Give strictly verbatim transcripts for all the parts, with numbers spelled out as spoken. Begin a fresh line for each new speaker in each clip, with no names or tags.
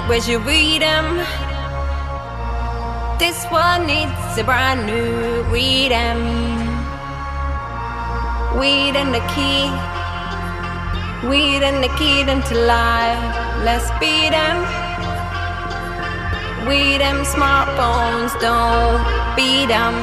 where's your rhythm? This one needs a brand new rhythm. Weed and the key, weed and the key them to life. Let's beat them. We them smartphones, don't beat them.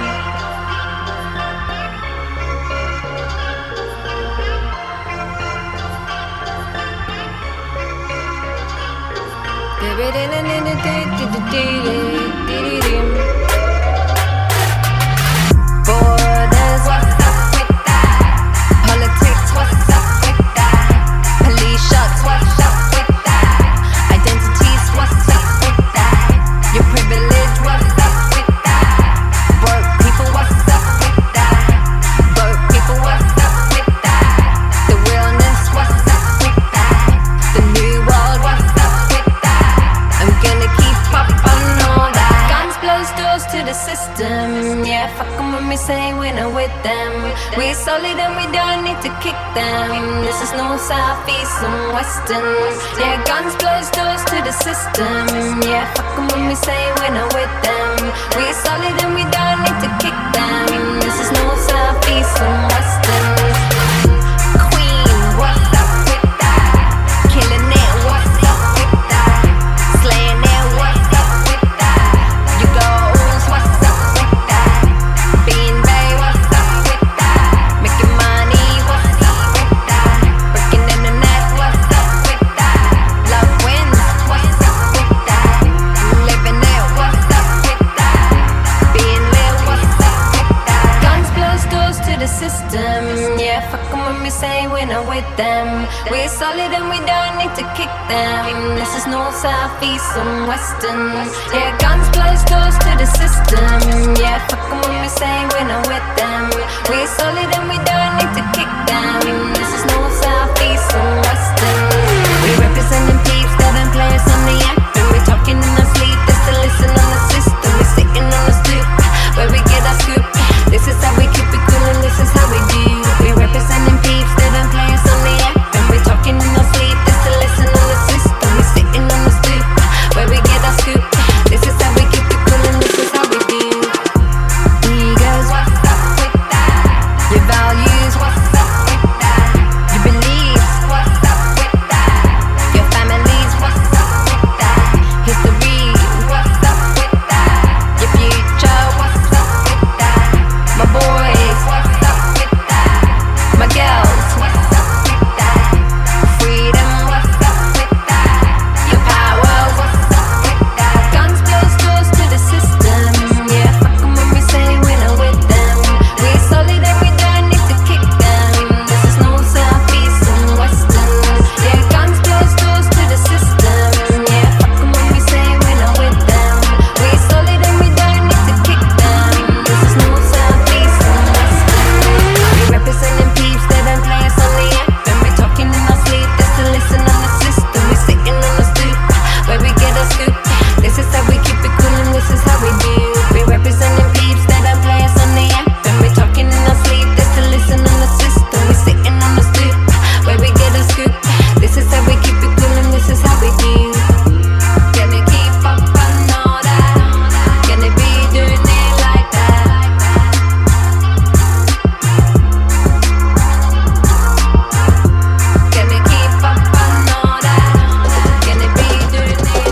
Borders, what's up with that? Politics, what's up with that? Police shots, what's up with that? Identities, what's up with that? Your privilege, what's up with that? Broke people, what's up with that? Broke people, what's up with that? The realness, what's up with that? The new world, what's up with that? I'm gonna keep up on all that. Guns blows doors to the system. Yeah, fuck 'em when we say we're not with them. We're solid and we don't need to kick them. This is north, south, east and western. Yeah, guns blows doors to the system. Yeah, fuck 'em when we say we're not with them. We're solid and we don't need to kick them. This is north, south, east and western. Queen, what's up with that? Killing it, what's up with that? Slaying it, what's up with that? You goals, what's up with that? Being Bay, what's up with that? Making money, what's up with that? Breaking in the net, what's up with that? Love wins, what's up with that? Living it, what's up with that? Being real, what's up with that? Guns blows doors to the system. Yeah, fuck 'em when we say we're not with them. We're solid and we don't need to kick them. This is north, south, east and western. Yeah, guns blows doors to the system. Yeah, fuck 'em when we say we're not with them. We're solid and we don't need to kick them. This is north, south, east and western. We representing peeps that don't play us on the app. And we talking in our sleep just to listen on the system. We sitting on the stoop where we get our scoop. This is how we keep it cool and this is how we do. We representing peeps that don't play us on the app. And we talking in our sleep just to listen on the system. We sitting on the stoop where we get our scoop. This is how we keep it cool and this is how we do. Egos, what's up with that? Your values, what's up with that? Your beliefs, what's up with that? Your families, what's up with that? History, what's up with that? Your future, what's up with that? My boys, what's up with that? My girls, what's up with that? Freedom, what's up with that? Your power, what's up with that? Guns blows doors to the system. Yeah, fuck 'em when we say we're not with them. We're solid and we don't need to kick them. This is north, south, east and western. Yeah, guns blows doors to the system. Yeah, fuck 'em when we say we're not with them. We're solid and we don't need to kick them. This is north, south, east and western. We representing peeps that don't play us on the app. And we talking in our sleep just to listen on the system. We sitting on the stoop where we get our scoop. This is how we keep it cool and this is how we do. We representing peeps that don't play us on the app. And we talking in our sleep just to listen on the system. We sitting on the stoop where we get our scoop. This is how we keep it cool and this is how we do. Gonna keep up on all that. Gonna be doing it like that. Gonna keep up on all that. Gonna be doing it like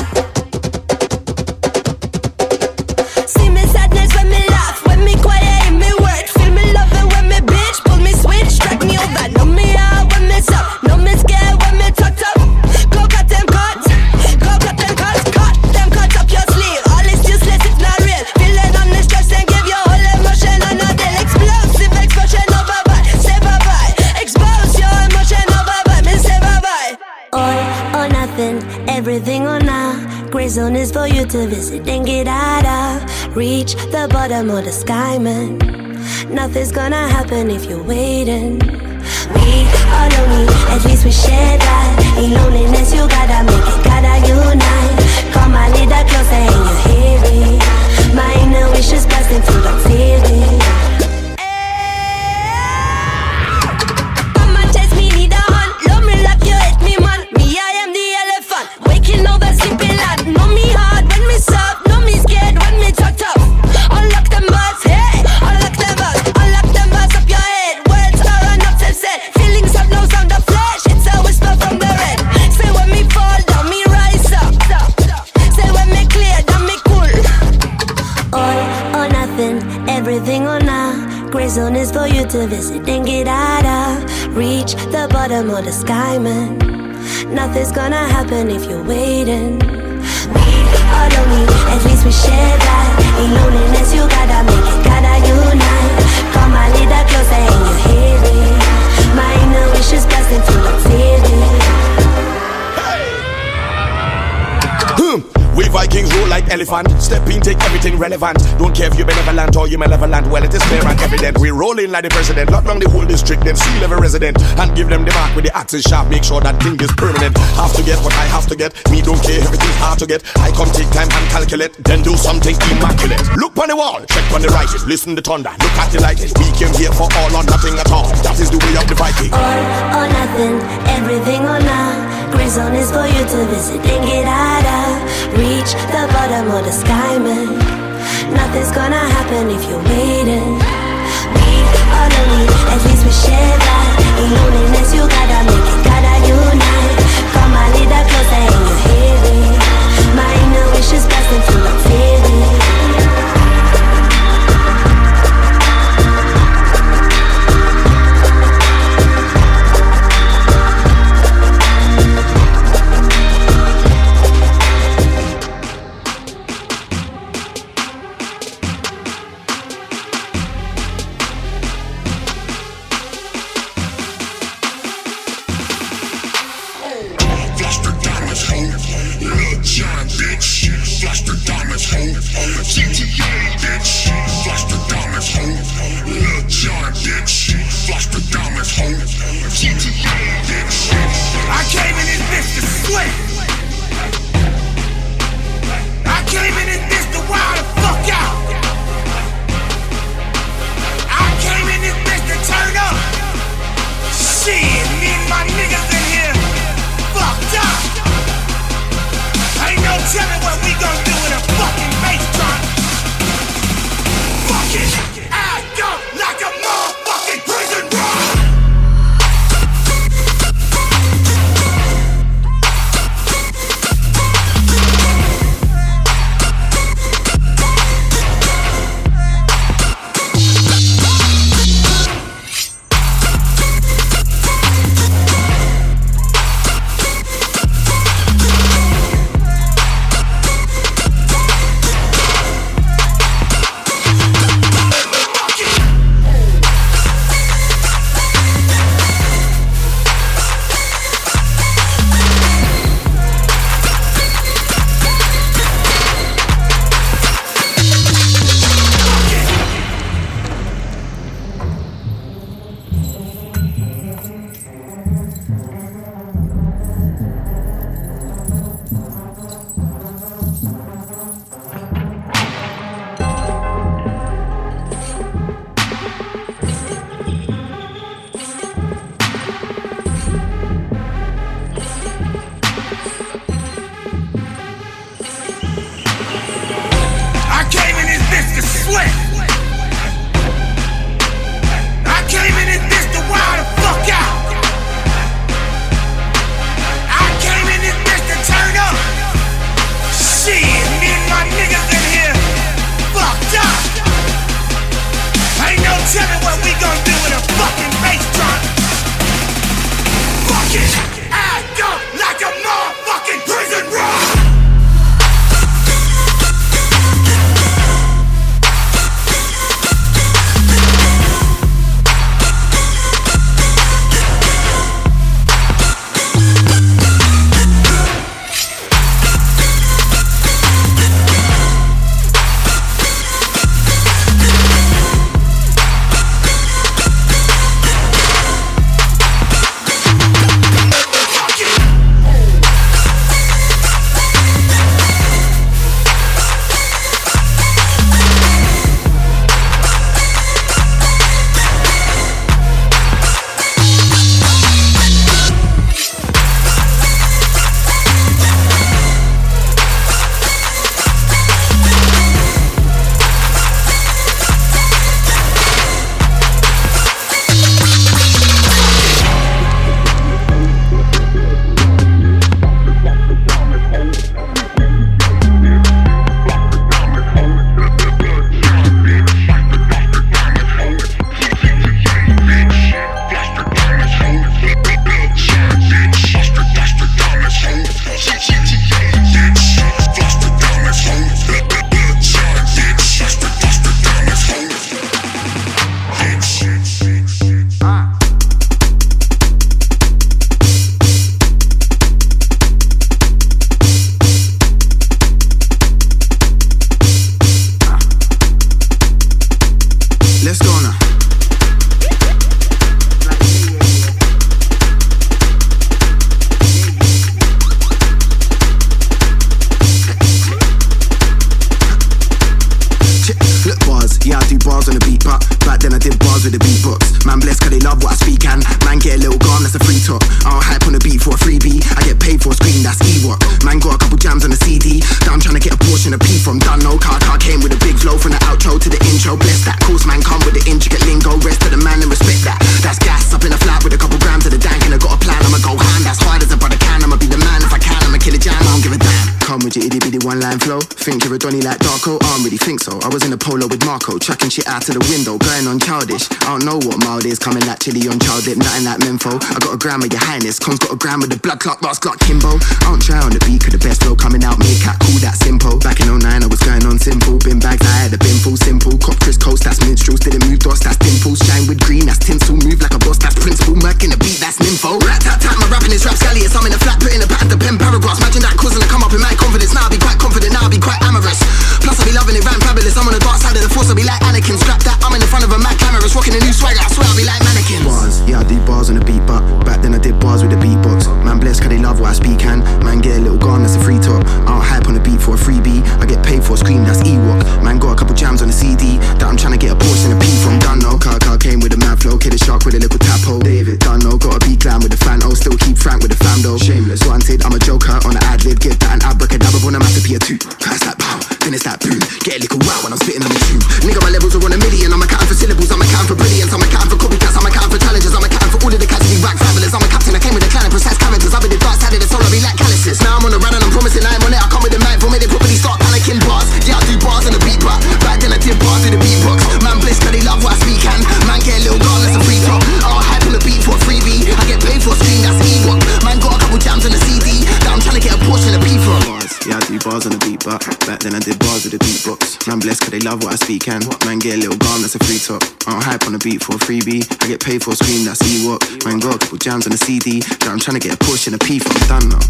that.
See me sadness when me laugh, when me quiet in me word. Feel me loving when me bitch, pull me switch, strike me over. Know me out when me suck, know me scared when me tucked up. Go cut them cuts, go cut them cuts, cut them cuts up your sleeve. All is useless, it's not real. Feeling on the stress and give your whole emotion on a deal. Explosive explosion over bye, say bye bye. Expose your emotion over bye, me say bye bye. All or nothing, everything or nah. Gray zone is for you to visit and get out of. Reach the bottom of the sky, man. Nothing's gonna happen if you're waiting. We are lonely, at least we share that. In loneliness you gotta make it, gotta unite. Come a little closer and you hear it. My inner wishes bursting through the feeling. Come and chase me, need a hand. Love me like you hate me, man. Me, I am the elephant. Waking over sleep. everything on a gray zone is for you to visit and get out of. Reach the bottom of the sky, man. Nothing's gonna happen if you're waiting. We are lonely, at least we share that. In loneliness, you gotta make it, gotta unite. Come a little closer and you hear it. My inner wish is blasting through the feeling.
We Vikings rule like elephant. Step in, take everything relevant. Don't care if you're benevolent or you're malevolent. Well, it is clear and evident. We roll in like the president. Lock down the whole district, then seal every resident. And give them the mark with the axis sharp. Make sure that thing is permanent. Have to get what I have to get. Me don't care, everything's hard to get. I come take time and calculate. Then do something immaculate. Look on the wall, check on the writing. Listen the thunder, look at the lightning. We came here for all or nothing at all. That is the way of the Viking.
All or nothing, everything or none. Gray zone is for you to visit and get out of. Reach the bottom of the sky, man. Nothing's gonna happen if you're waiting. We are lonely, at least we share that. In loneliness, you gotta make it, gotta unite. Come a little closer and you hear it. My inner wish is blasting through the feeling.
let's go now. Look bars, yeah I do bars on the beat, but back then I did bars with the beatbox. Man blessed cause they love what I speak and man get a little gone, that's a free talk. I don't hype on the beat for a freebie, I get paid for a screen, that's E-Rock. Man got a couple jams on the C D, that I'm trying to get a portion of P from. Done no car, car came with a big flow from the outro to the intro. Bless that, course man come with the intricate lingo. Rest of the man and respect that. That's gas up in a flat with a couple grams of the dank and I got a plan, I'ma go hand as hard as a brother can. I'ma be the man if I can, I'ma kill a jam, I don't give a damn. Come with your itty bitty one line flow, think you're a Donny like Darko, I don't really think so. I was in a polo with Marco, chucking shit out to the window, going on childish. I don't know what mild is, coming like chili on child lip, nothing like Menfo. I got a gram of your highness, Con's got a gram of the blood clot, last clock Kimbo. I don't try on the beat, cause the best flow coming out, make cat cool, that simple. Back in oh nine I was going on simple, bin bags, I had a bin full simple. Cop Chris Coast, that's minstrels, didn't move dots, that's dimples. Shine with green, that's tinsel, move like a boss, that's principle. Merc in the beat, that's nympho. Rat tat tat, my rapping is rapscallious, I'm in a flat, putting a pattern to pen paragraphs. Imagine that causing to come up in my confidence, now I be quite confident, now I be quite amorous. Plus I be loving it, ran fabulous, I'm on the dark side of the force, I be like Anakin. Strap that, I'm in the front of a Mac cameras, rocking a new swagger, I swear I be like mannequins. Bars, yeah I do bars on the beat, but back then I did bars with the beatbox. Man blessed cause they love what I speak and man get a little gone, that's a free talk. I don't hype on the beat for a freebie, I get paid for a screen, that's E-Rock. Man got a couple jams on the C D, that I'm trying to get a portion of P from. Done no, car car came with a mad flow, kid a shark with a little tap hole. David, done no, got a beat glam with the Fanto, still keep frank with the fam though. Shameless, wanted, I'm a joker on the ad lib, give that an abracadabra when I'm at the P two. Pass that pow, then it's that boom, get a little wow when I'm spitting on the tune. Nigga my levels are on a million, I'm accounting for syllables, I'm accounting for brilliance, I'm accounting for copycats, I'm accounting for challenges, I'm accounting for all of the cats who rack fabulous. I'm a captain, I came with a clan of precise characters, I've been the dark side of the soul, I be like calluses. Now I'm on the run and I'm promising I am on it, I come with the mic for me, they probably start panicking bars. Yeah I do bars on the beat, but back then I did bars with the beatbox. Man bliss cause they love what I speak and man get a little gone, that's a free talk. I don't hype on the beat for a freebie, I get paid for a screen, that's E-Rock. Man got a couple jams on the C D, that I'm trying to get a portion of P from. Bars, yeah I do bars on the beat, but back then I did bars with the beatbox. Man bless cause they love what I speak and man get a little gone, that's a free talk. I don't hype on the beat for a freebie, I get paid for a screen, that's E-Rock. Man got a couple jams on the C D, that I'm trying to get a portion of P from. Done now.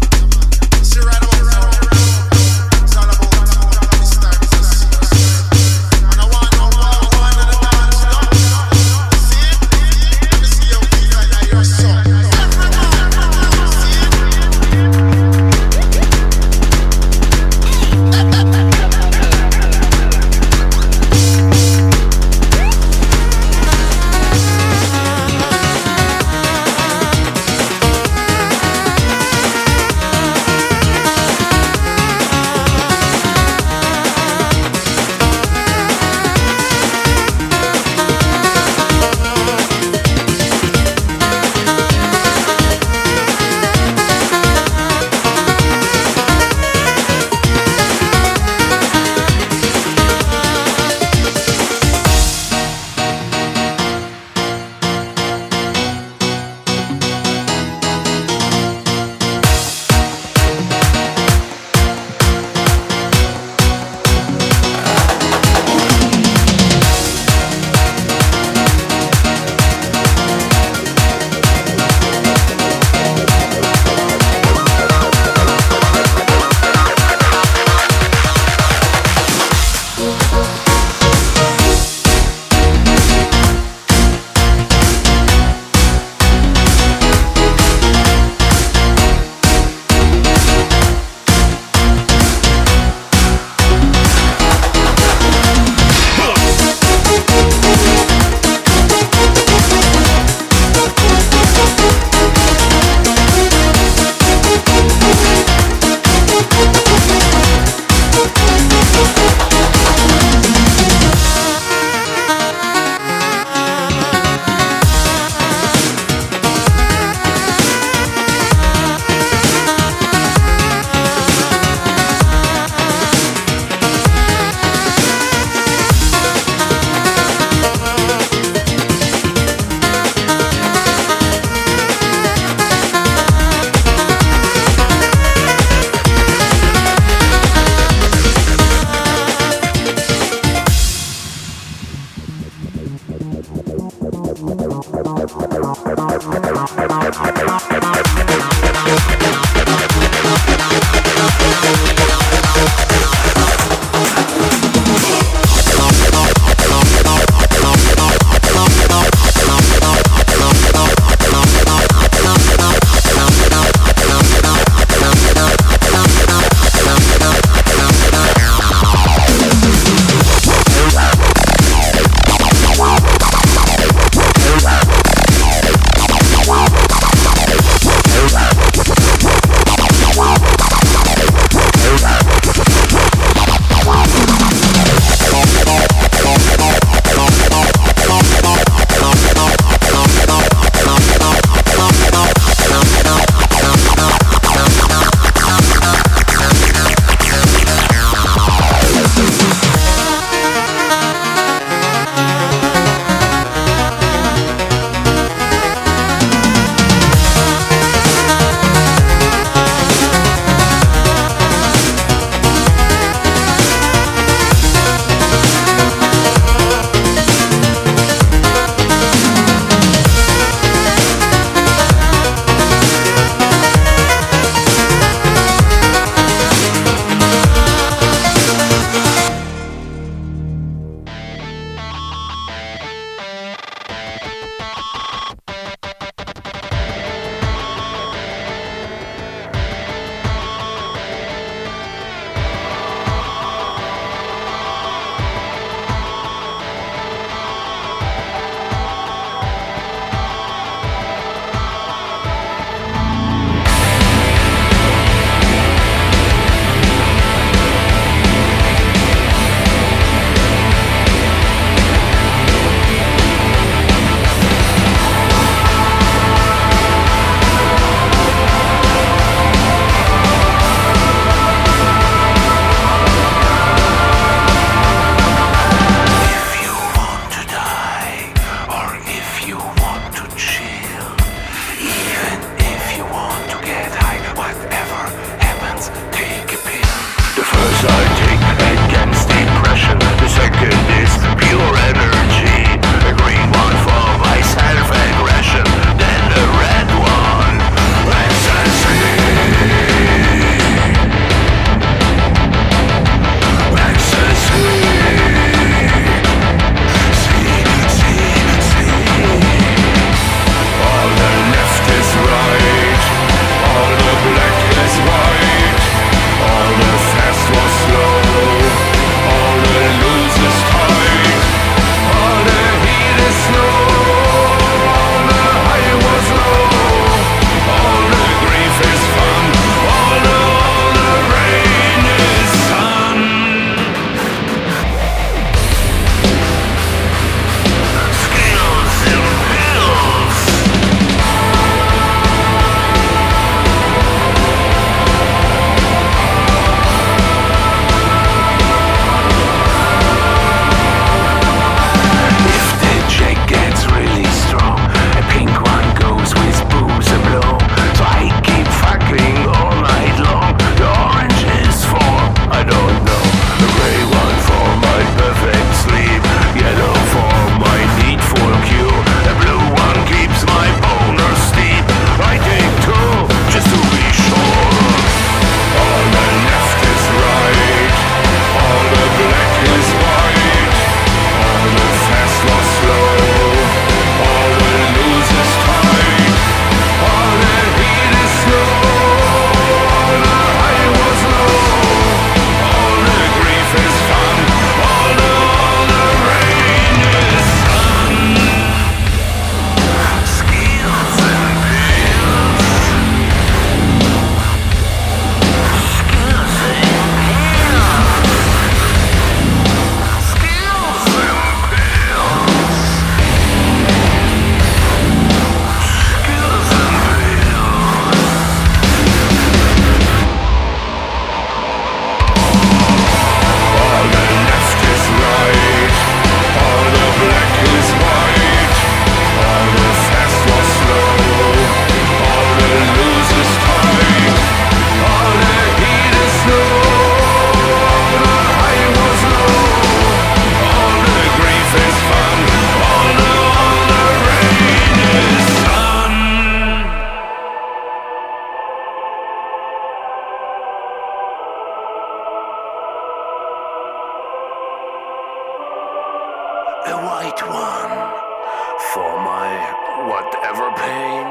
right one for my whatever pain.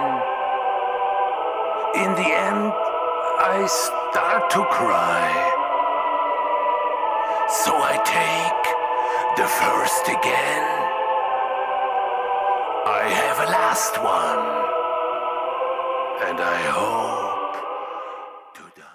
In the end, I start to cry. So I take the first again. I have a last one, and I hope to die.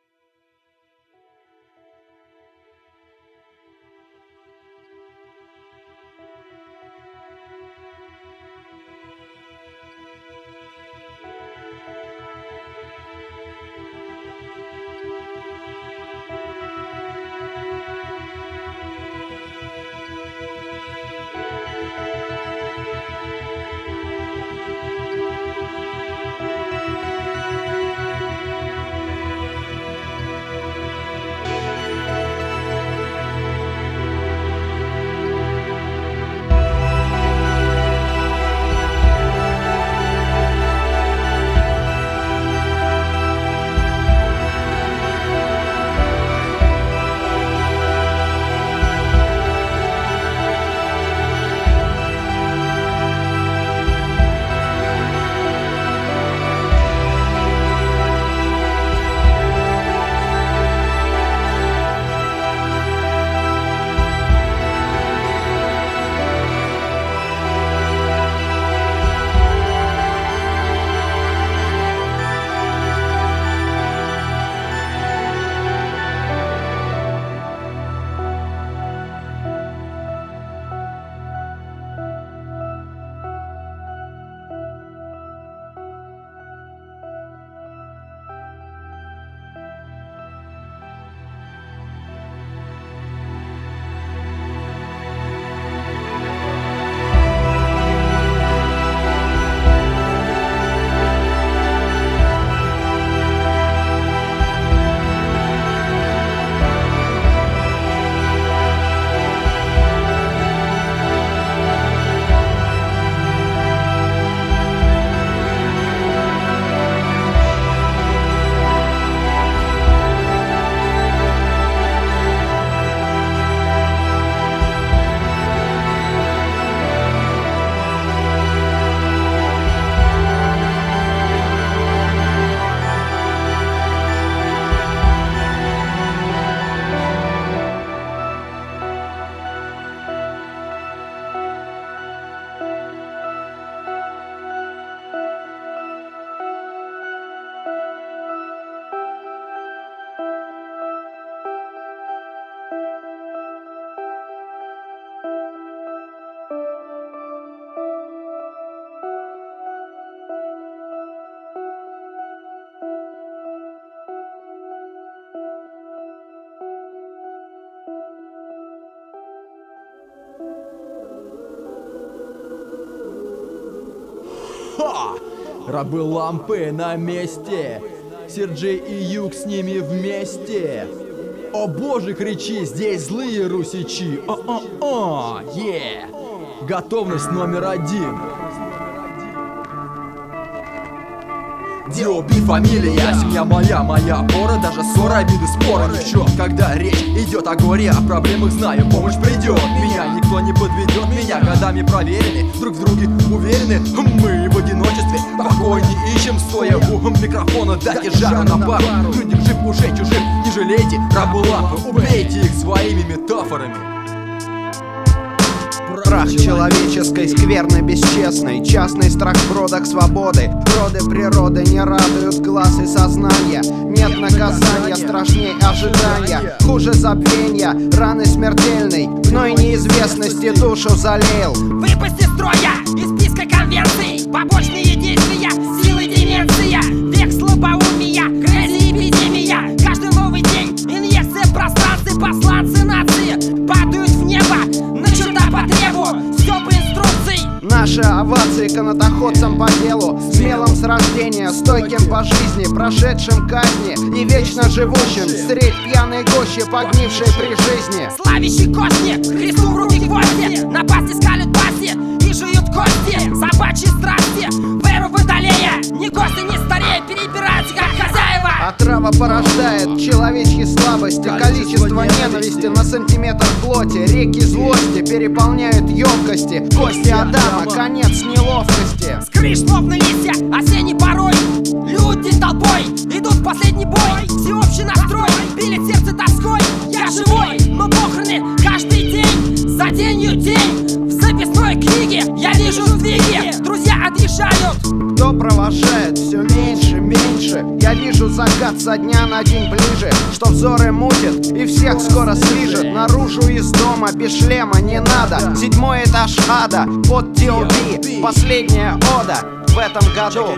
Ха! Рабы лампы на месте. Серджей и Юг с ними вместе. О боже, кричи, здесь злые русичи. О-о-о, е! Готовность номер один. Диоби фамилия, семья моя, моя опора. Даже ссора, обиды, спора ни в чем. Когда речь идет о горе, о проблемах знаю, помощь придет. Меня никто не подведет, меня годами проверены, друг в друге уверены. Мы в одиночестве покой не ищем, стоя у микрофона, дайте жару на пару. Людям жив уже чужих, не жалейте, рабы лампы, убейте их своими метафорами.
Прах человеческой скверны бесчестной, частный страх в бродах свободы. Роды природы не радуют глаз и сознания. Нет наказания страшней ожидания. Хуже забвения, раны смертельной, гной неизвестности душу залеял.
Выпасть из строя, из списка конвенций, побочные действия, силы деменция, век слабоумия, грязи эпидемия. Каждый новый день инъекция в пространстве, посланцы нации падают в небо на черта по требу, все по инструкции.
Наши овации канатоходцам по делу, смелым с рождения, стойким по жизни, прошедшим казни и вечно живущим средь пьяной гощи, погнившей при жизни.
Славящий кости, Христу в руки гвозди, напасти скалят пасти и жуют кости. Собачьи страсти, веру водолея, ни гости, ни старея, перебираются как хозяева.
Отрава порождает человечьи слова. слабости, количество ненависти на сантиметр плоти. Реки злости переполняют емкости. Кости Адама, конец неловкости.
Скрыш словно листья, осенний порой. Люди толпой идут в последний бой. Всеобщий настрой, пилит сердце тоской. Я живой, но похороны каждый день. За денью день, в записной книге я вижу сдвиги. Друзья отъезжают.
Кто провожает все меньше, меньше. Я вижу закат со дня на день ближе. Что взоры мутит и всех скоро слижет. Наружу из дома без шлема не надо. Седьмой этаж ада под ди о би. Последняя ода в этом году.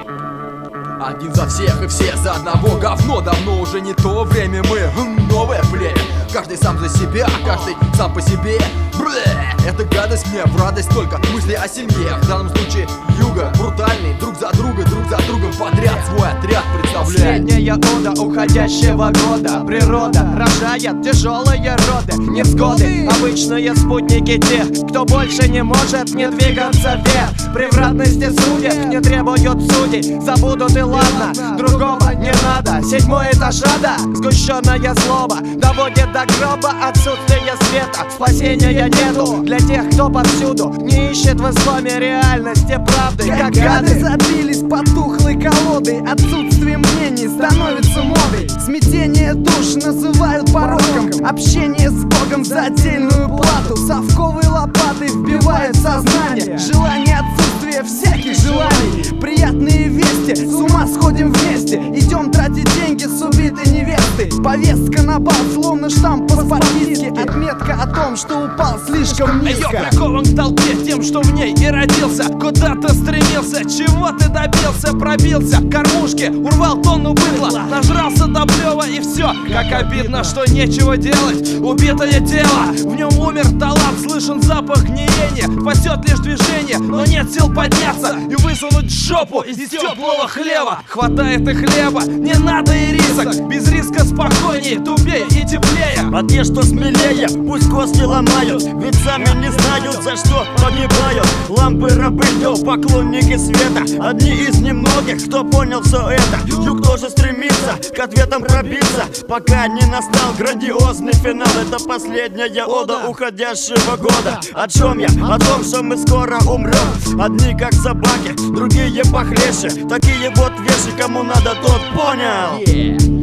Один за всех и все за одного. Говно, давно уже не то время. Мы новое племя. Каждый сам за себя, каждый сам по себе. Блэ, эта гадость мне в радость, только мысли о семье. В данном случае юга брутальный, друг за друга, друг за другом подряд свой отряд представляет.
Последняя ода уходящего года. Природа рожает тяжелые роды, невзгоды, обычные спутники тех, кто больше не может не двигаться вверх. Превратности судеб не требуют судей. Забудут и ладно, другого не надо. Седьмой этаж ада, сгущенная злоба доводит до гроба отсутствие света. Спасения нету для тех, кто повсюду не ищет в исламе реальности правды. Как гады
забились потухлой колодой. Отсутствие мнений становится модой. Смятение душ называют пороком. Общение с Богом за отдельную плату. Совковой лопатой вбивают сознание. Желание отсутствия всяких желаний. Приятные вести, с ума сходим вместе. Идем тратить деньги с убитой невестой. Повестка на бал, словно штамп паспортистки. Отметка о том, что упал слишком низко.
Я прикован к толпе тем, что в ней и родился. Куда-то стремился, чего ты добился? Пробился к кормушке, урвал тонну быдла. Нажрался до плева и все. Как обидно, что нечего делать. Убитое тело, в нем умер талант. Слышен запах гниения, спасет лишь движение. Но нет сил подняться и высунуть жопу из теплого хлеба. Хватает и хлеба, не надо и рисок. Без риска спокойнее, тупее и теплее.
А те, что смелее, пусть кости ломают. Ведь сами не знают, за что погибают. Лампы рабы, поклонники света. Одни из немногих, кто понял все это. Юг тоже стремится к ответам пробиться, пока не настал грандиозный финал. Это последняя ода уходящего года. О чем я? О том, что мы скоро умрем. Одни как собаки, другие похлеще. Такие вот вещи, кому надо, тот понял.
Yeah.